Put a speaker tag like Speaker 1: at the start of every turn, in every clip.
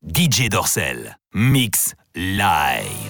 Speaker 1: DJ Dorsel. Mix live.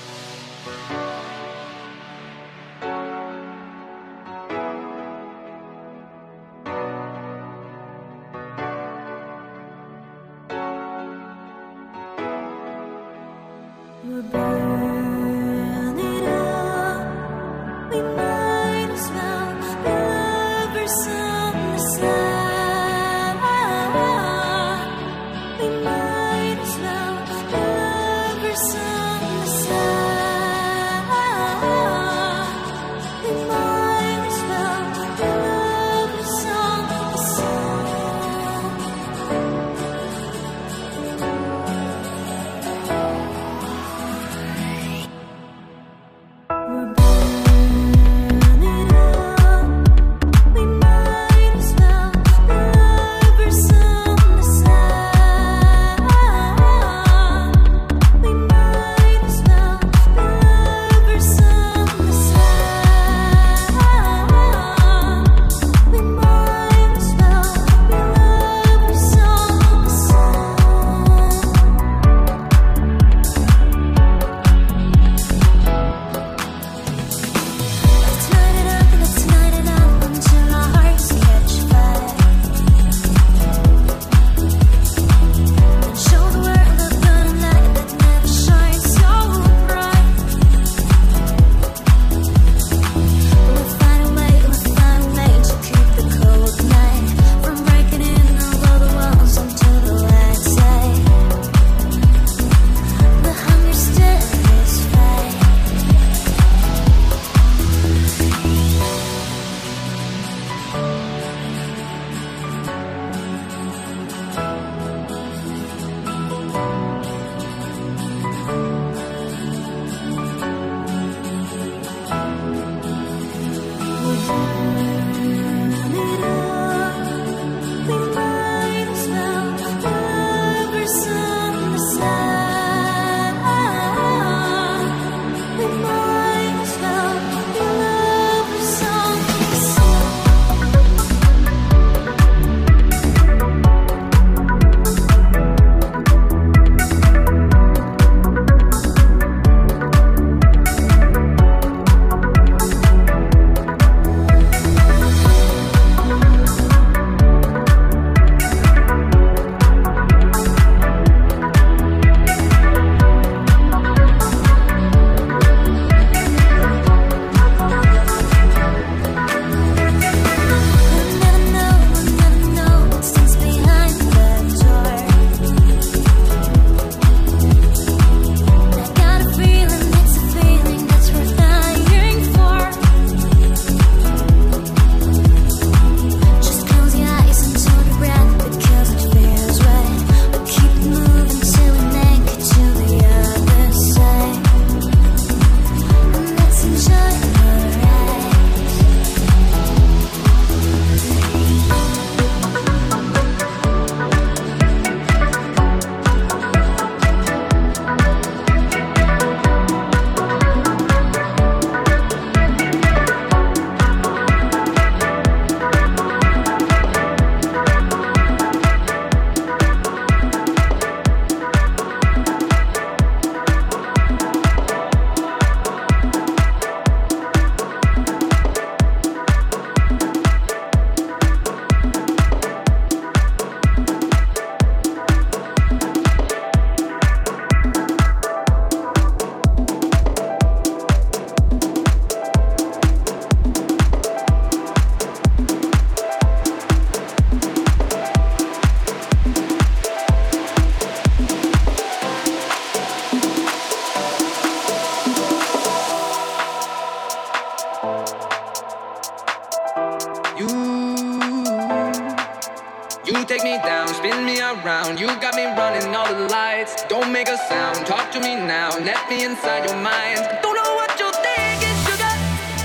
Speaker 2: You take me down, spin me around. You got me running all the lights. Don't make a sound, talk to me now. Let me inside your mind. Don't know what you're thinking, sugar.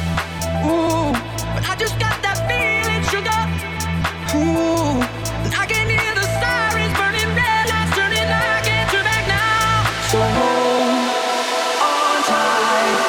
Speaker 2: Ooh, but I just got that feeling, sugar. Ooh, and I can hear the sirens burning, red lights turning. I can't turn back now. So hold on tight.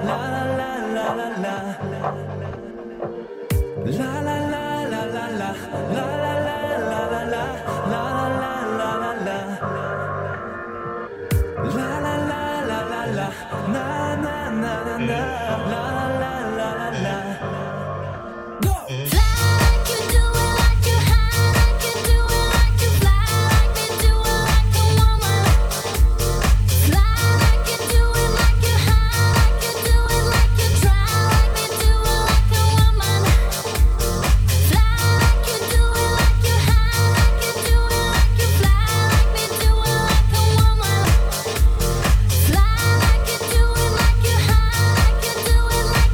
Speaker 3: Fly like you do it, like you high, like you do it, like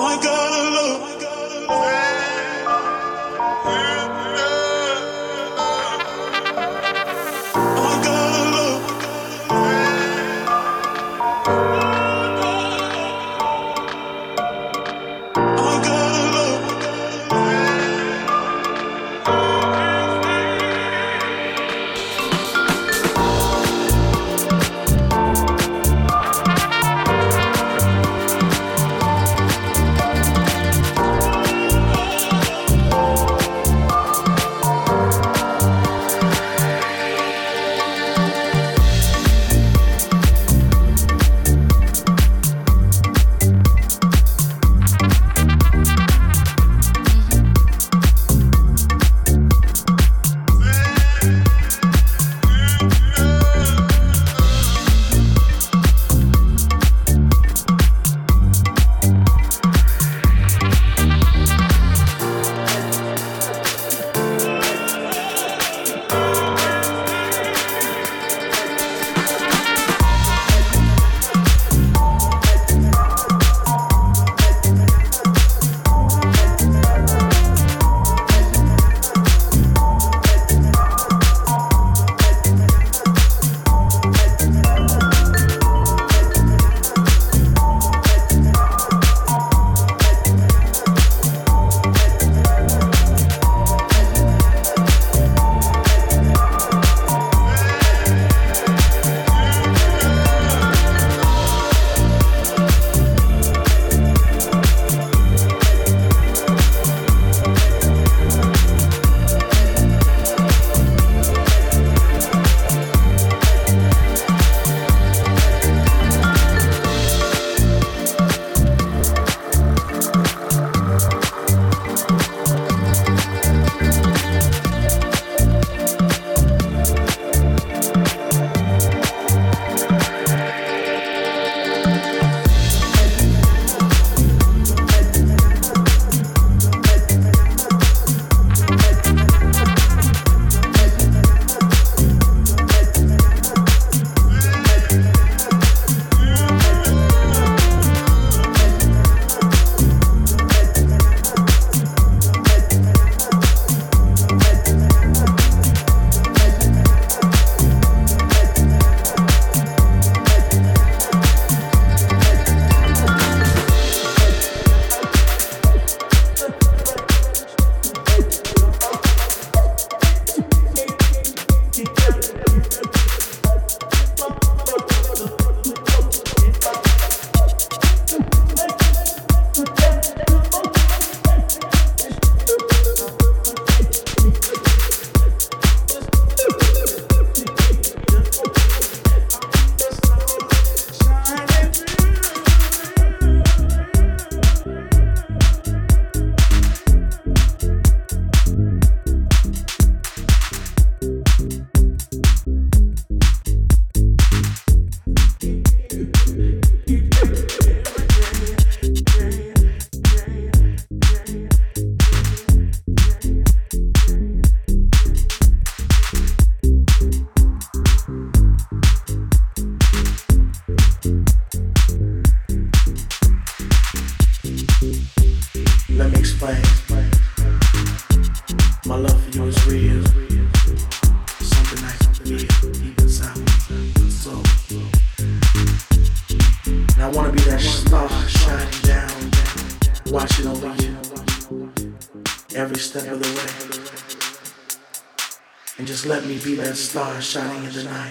Speaker 3: Star shining in the night.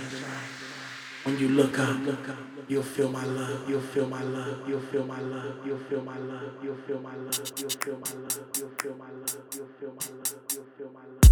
Speaker 3: When you look up, you'll feel my love. You'll feel my love. You'll feel my love. You'll feel my love. You'll feel my love. You'll feel my love. You'll feel my love. You'll feel my love. You'll feel my love.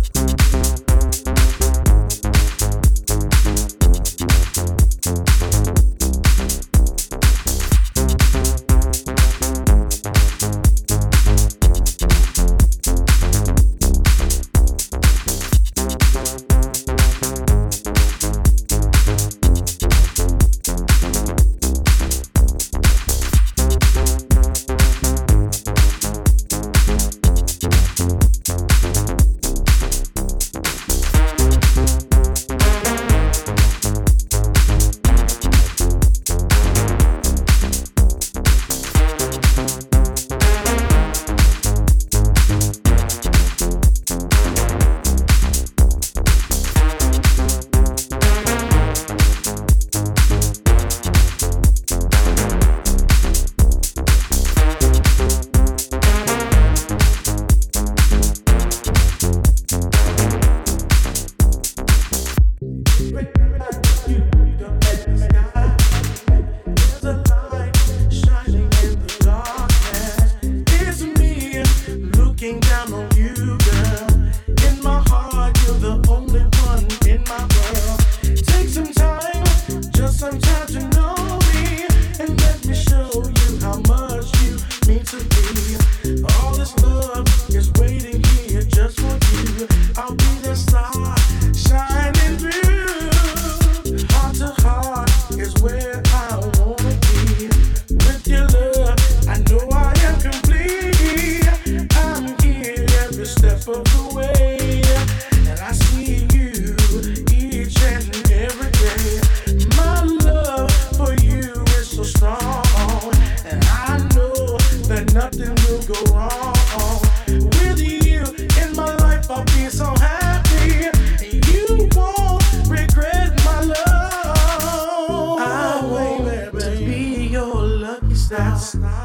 Speaker 3: looking down on you, girl. In my heart, you're the only one in my world. Take some time, just some time to know me, and let me show you how much you mean to me. All this love is waiting here just for you. I'll be the star shining through. Heart to heart is where I wanna be. With your love, I know I am complete. I'm here every step of the way, and I see you each and every day. My love for you is so strong, and I know that nothing will go wrong. With you in my life, I'll be so happy. You won't regret my love. I want to be your lucky star.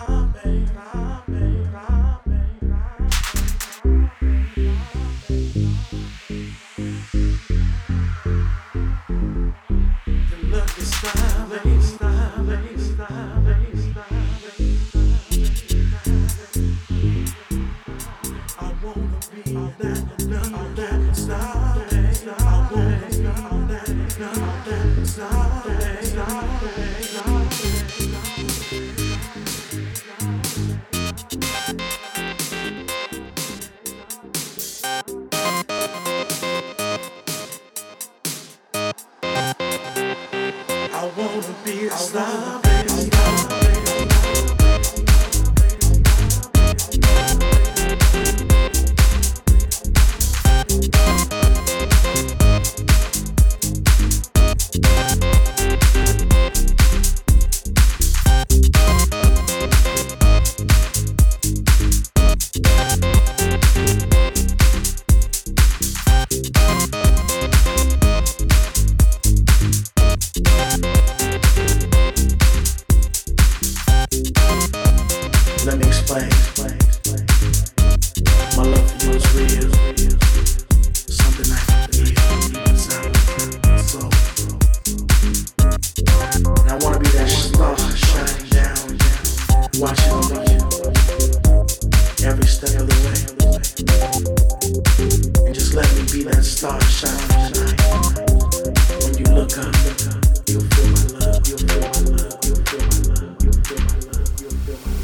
Speaker 3: I wanna be a star, baby. Let me explain. My love for you is real. Something I can feel deep inside my soul. And I wanna be that star shining down, watching over you every step of the way. And just let me be that star shining tonight. When you look up, you'll feel my love. You'll feel my love. You'll feel my love. You'll feel my love. You'll feel my love.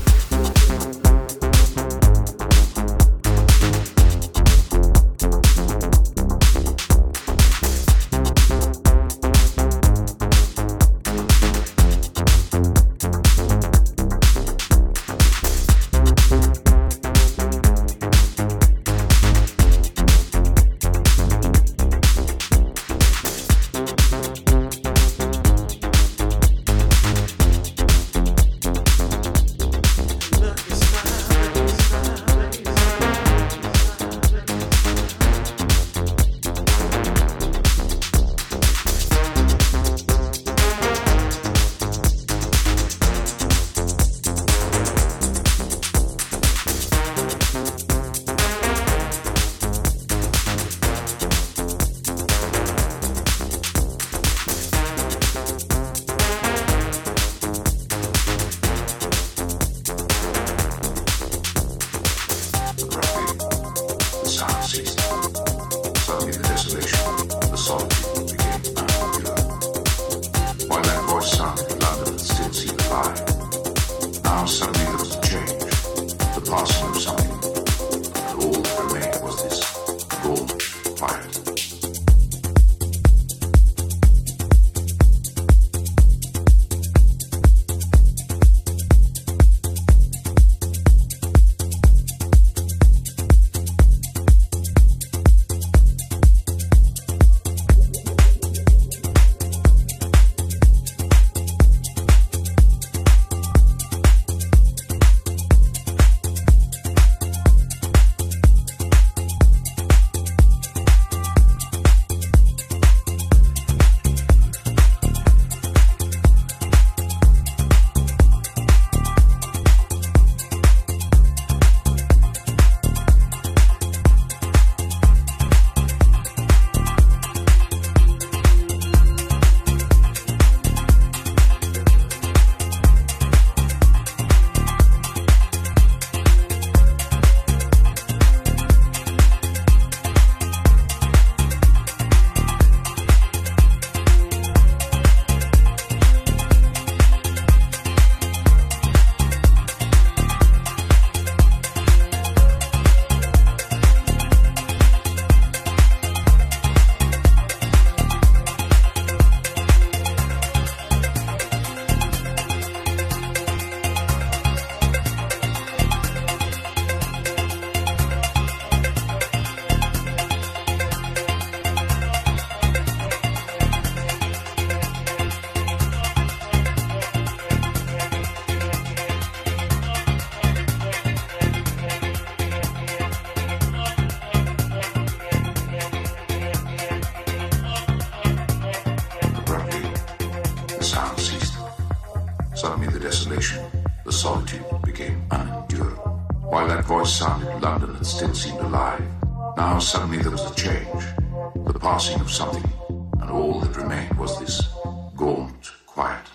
Speaker 4: that voice sounded, London had still seemed alive. Now suddenly there was a change, the passing of something, and all that remained was this gaunt quiet.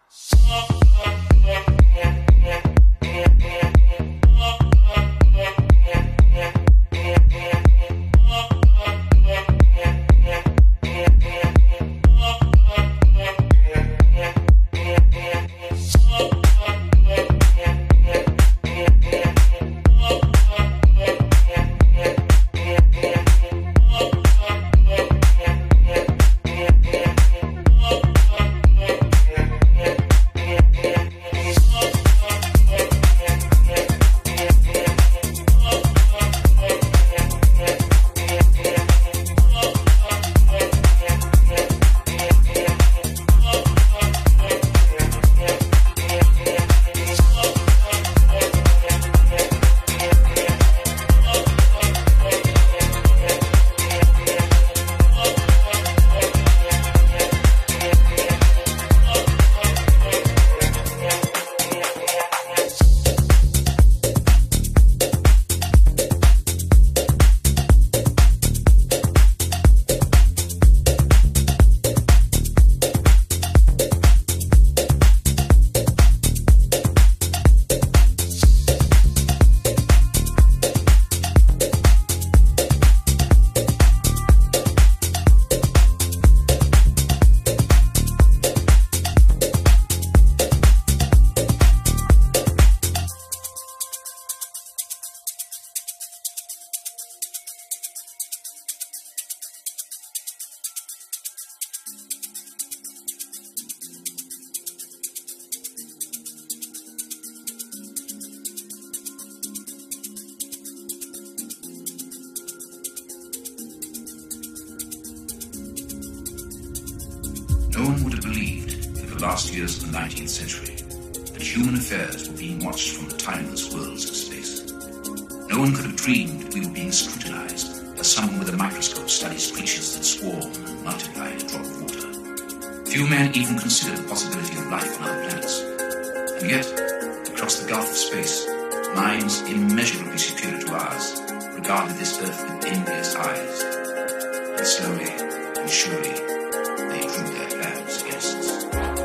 Speaker 5: No one would have believed in the last years of the 19th century that human affairs were being watched from the timeless worlds of space. No one could have dreamed that we were being scrutinized as someone with a microscope studies creatures that swarm and multiply in a drop of water. Few men even considered the possibility of life on other planets. And yet, across the gulf of space, minds immeasurably superior to ours regarded this earth with envious eyes. And slowly and surely, they drew their plans against us.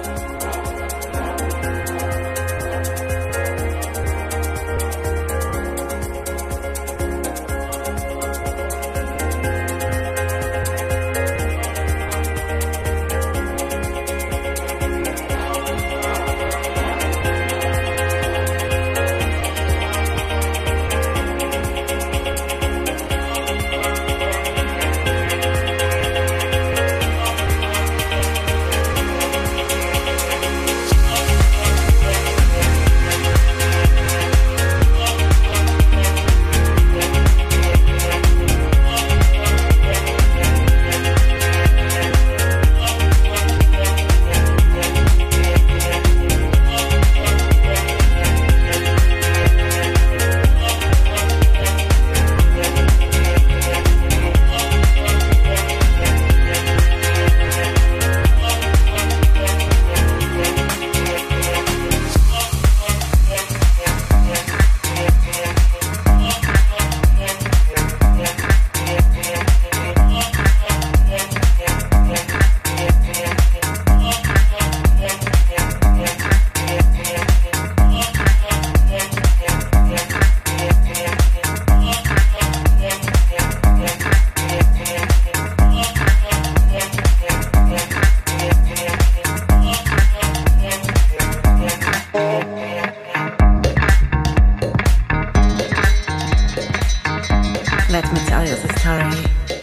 Speaker 6: Let me tell you the story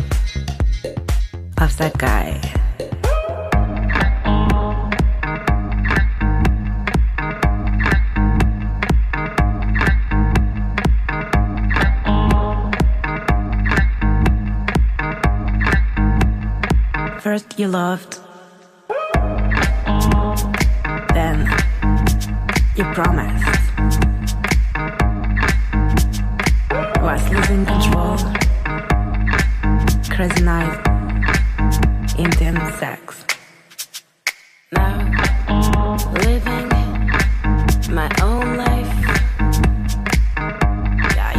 Speaker 6: of that guy. First you loved, then you promised. Was losing control, crazy night, intense sex. Now, living my own life. Yeah,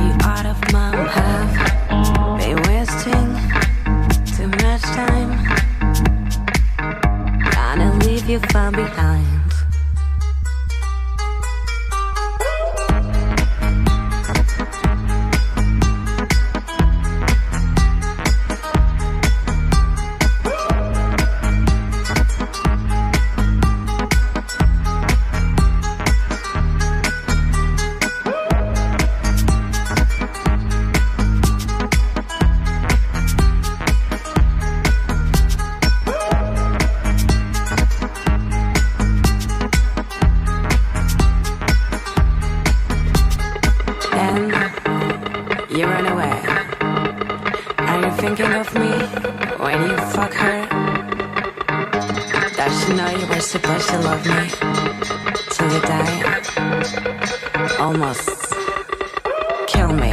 Speaker 6: you run away. Are you thinking of me when you fuck her? Does she know you were supposed to love me till you die? Almost kill me.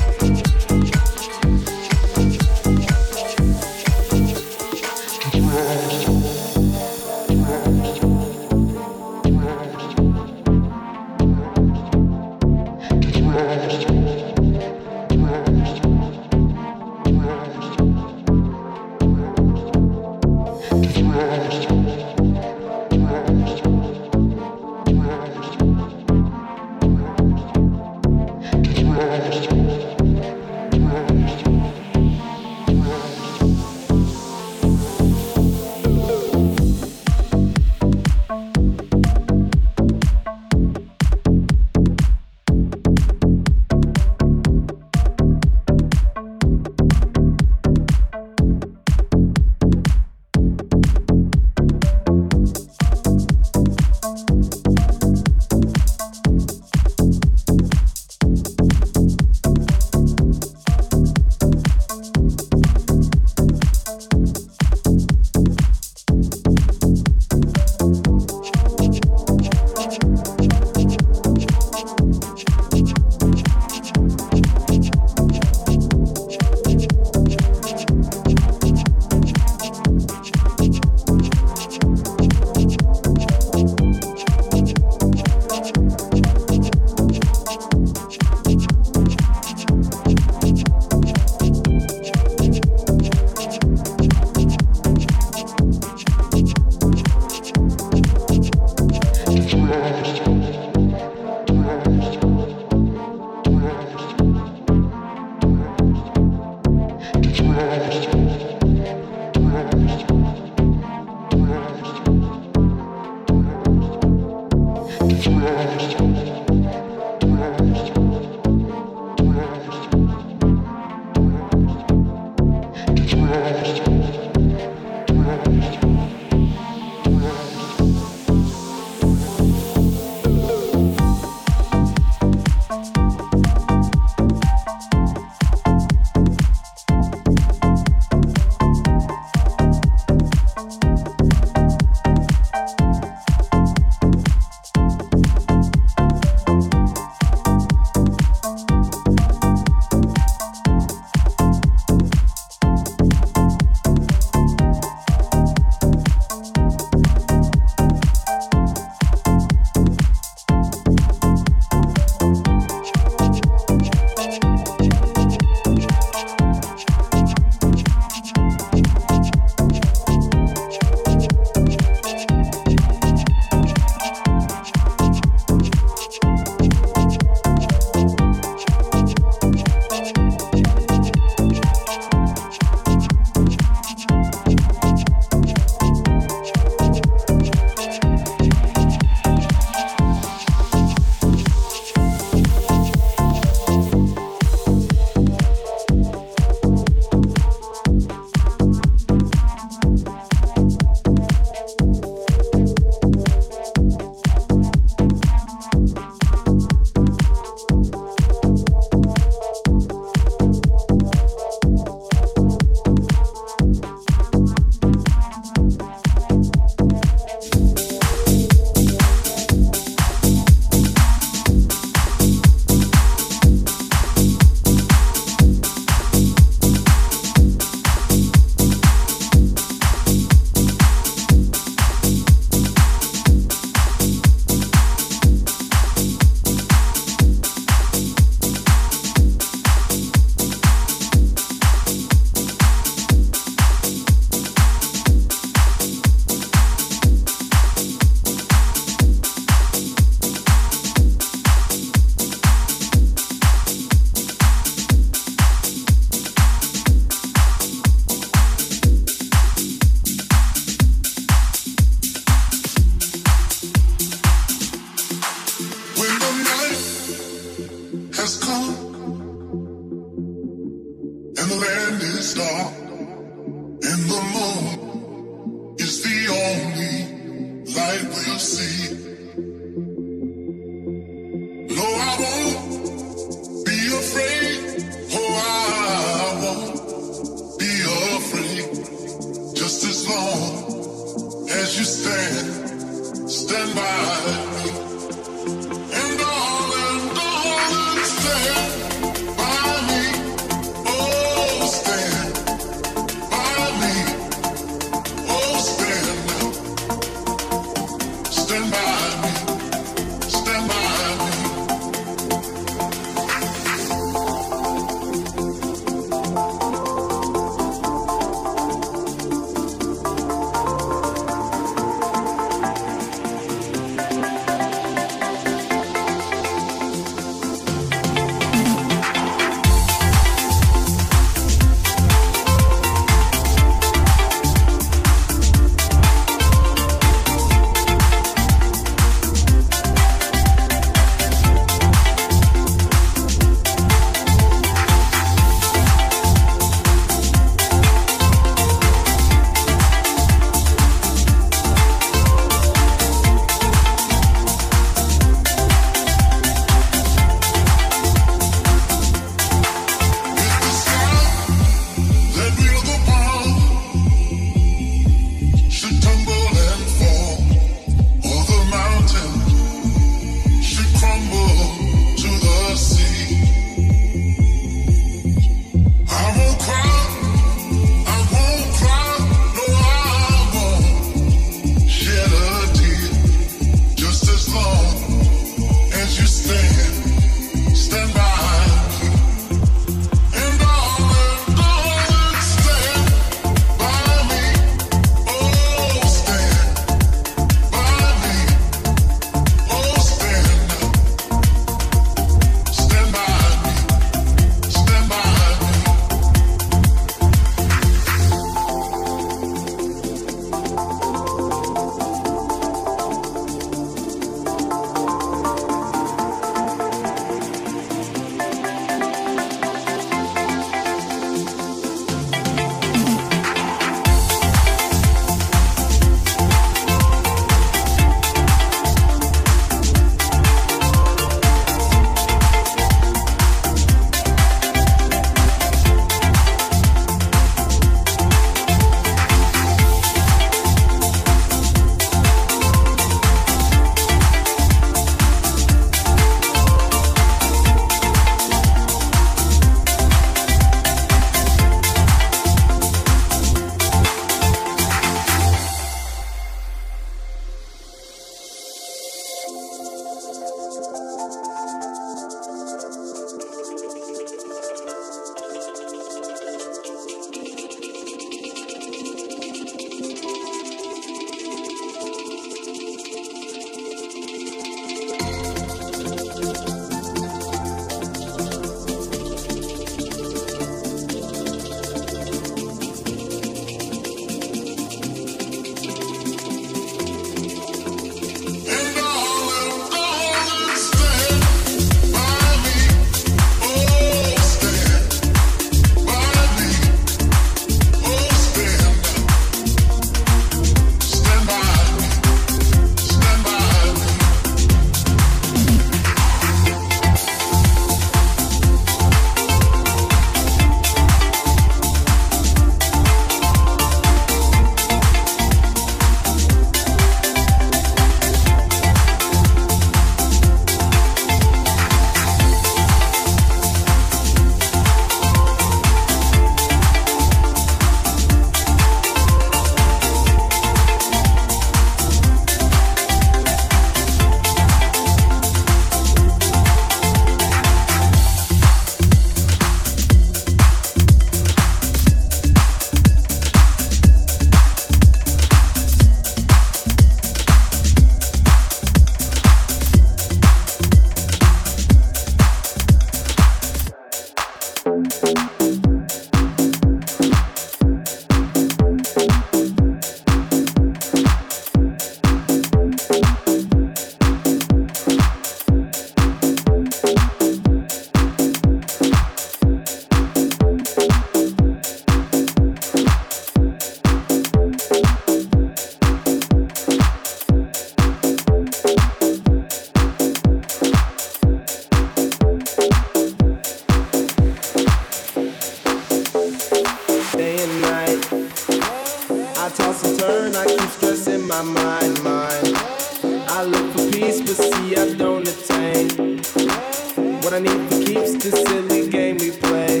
Speaker 3: I need for keeps this silly game we play.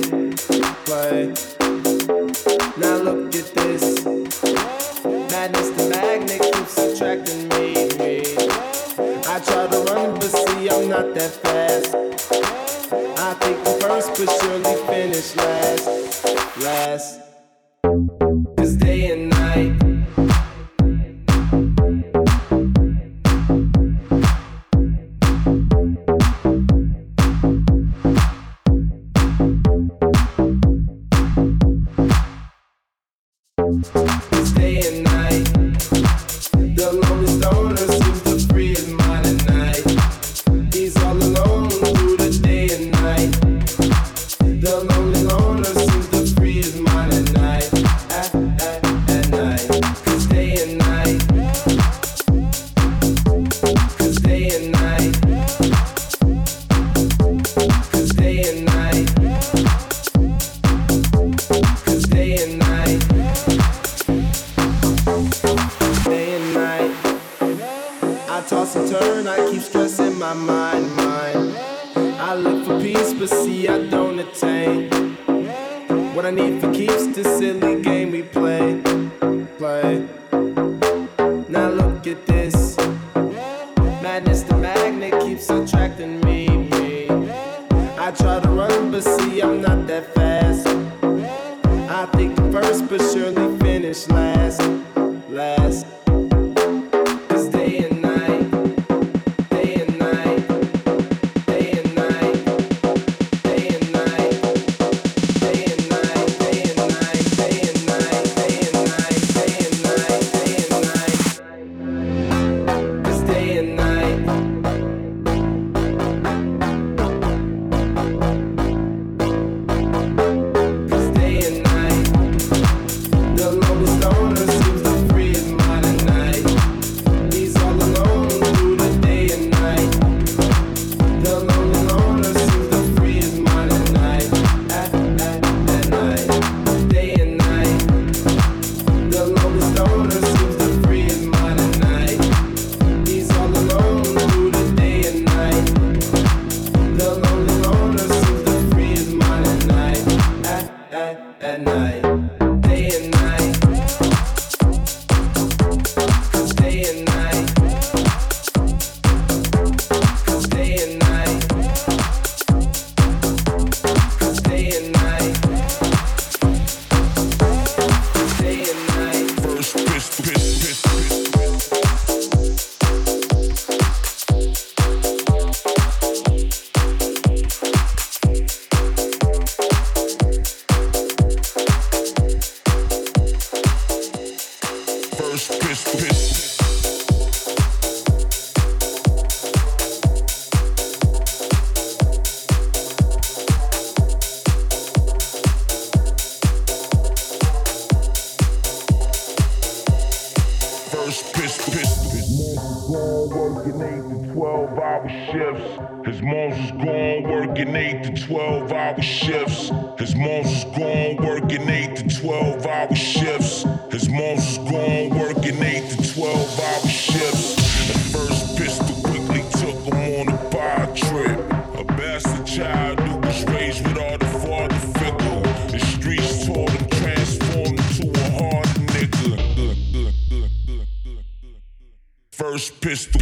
Speaker 3: Now look at this. Madness, the magnet keeps attracting me. I try to run, but see, I'm not that fast. I think I'm first, but surely finish last. It's day and night. It's day and night. The lonely stoner seems to free his mind at night. He's all alone through the day and night. The lonely loner seems to free his mind at night. At night. 'Cause day and night. 'Cause day and night. 'Cause day and night. 'Cause day and night. Day and night, I toss and turn, I keep stressing my mind. I look for peace, but see I don't attain. What I need for keeps this silly game we play. Now look at this. Madness, the magnet keeps attracting me. I try to run, but see I'm not that fast. I think I'm first, but surely finish last. 'Cause day and night, day and night, day and night, day and night, day and night, day and night, day and night, day and night, day and night, day and night. 'Cause day and night. 'Cause day and night. The lonely stoner seems to free his mind at night. He's all alone through the day and night. The lonely loner seems to free his mind at night. At night. Day and night. The lonely stoner seems to free his mind at night. He's all alone through the day and night. The lonely loner seems to free his mind at night. At night. Day and night. 'Cause day and night. 'Cause day and night. 'Cause day and night. Day and night.
Speaker 7: First pistol. His moms was gone working 8 to 12-hour shifts. His moms was gone working 8 to 12-hour shifts. His moms was gone working 8 to 12-hour shifts. The first pistol quickly took him on a bar trip. A bastard child who was raised without a father figure. The streets taught him, transformed into a hard nigga. First pistol.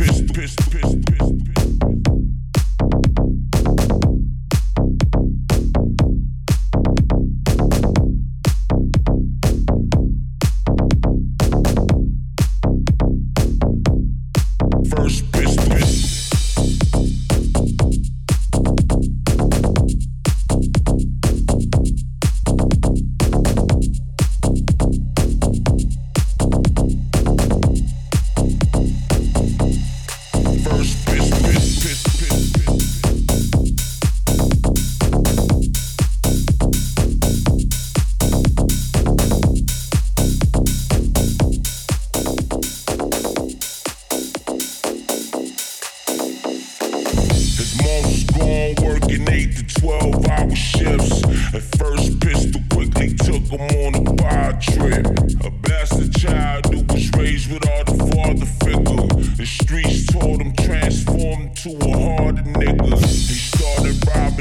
Speaker 7: To a harder nigga. He started robbing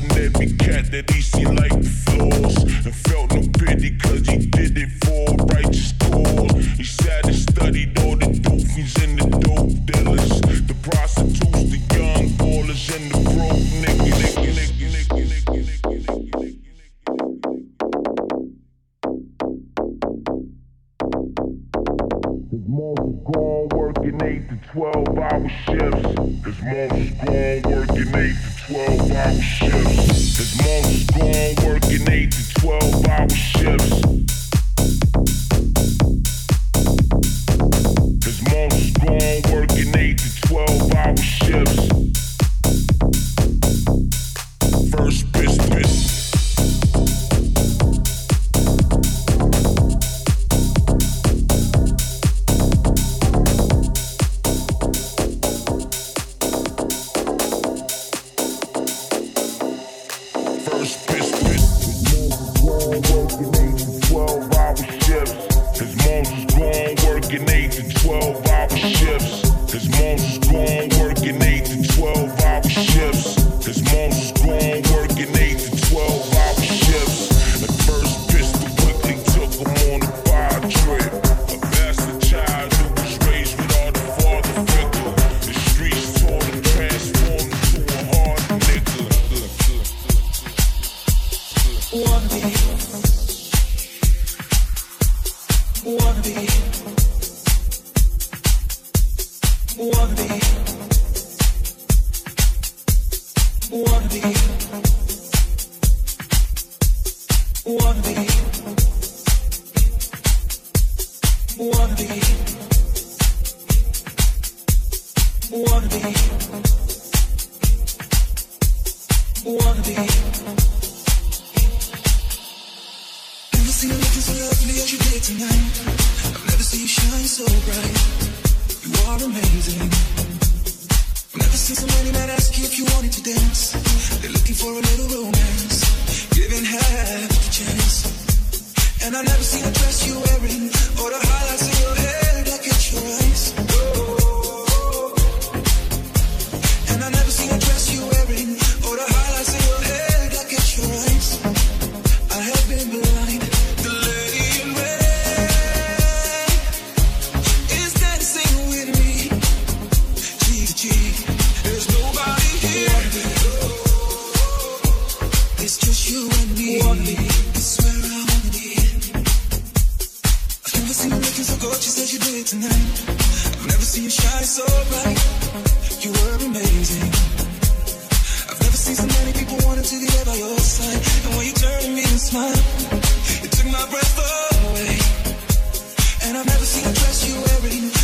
Speaker 7: at least he liked the flaws. And felt no pity cause he did it for a righteous cause. He sat and studied all the doofies and the dope dealers, the prostitutes, the young ballers, and the broke niggas. His mom was gone working 8 to 12-hour shifts. His mom was gone working 8 to 12-hour shifts. His mom was gone working 8 to 12-hour shifts. His mom was gone working 8 to 12-hour shifts. First business.
Speaker 8: You took my breath away, and I've never seen a dress you wearing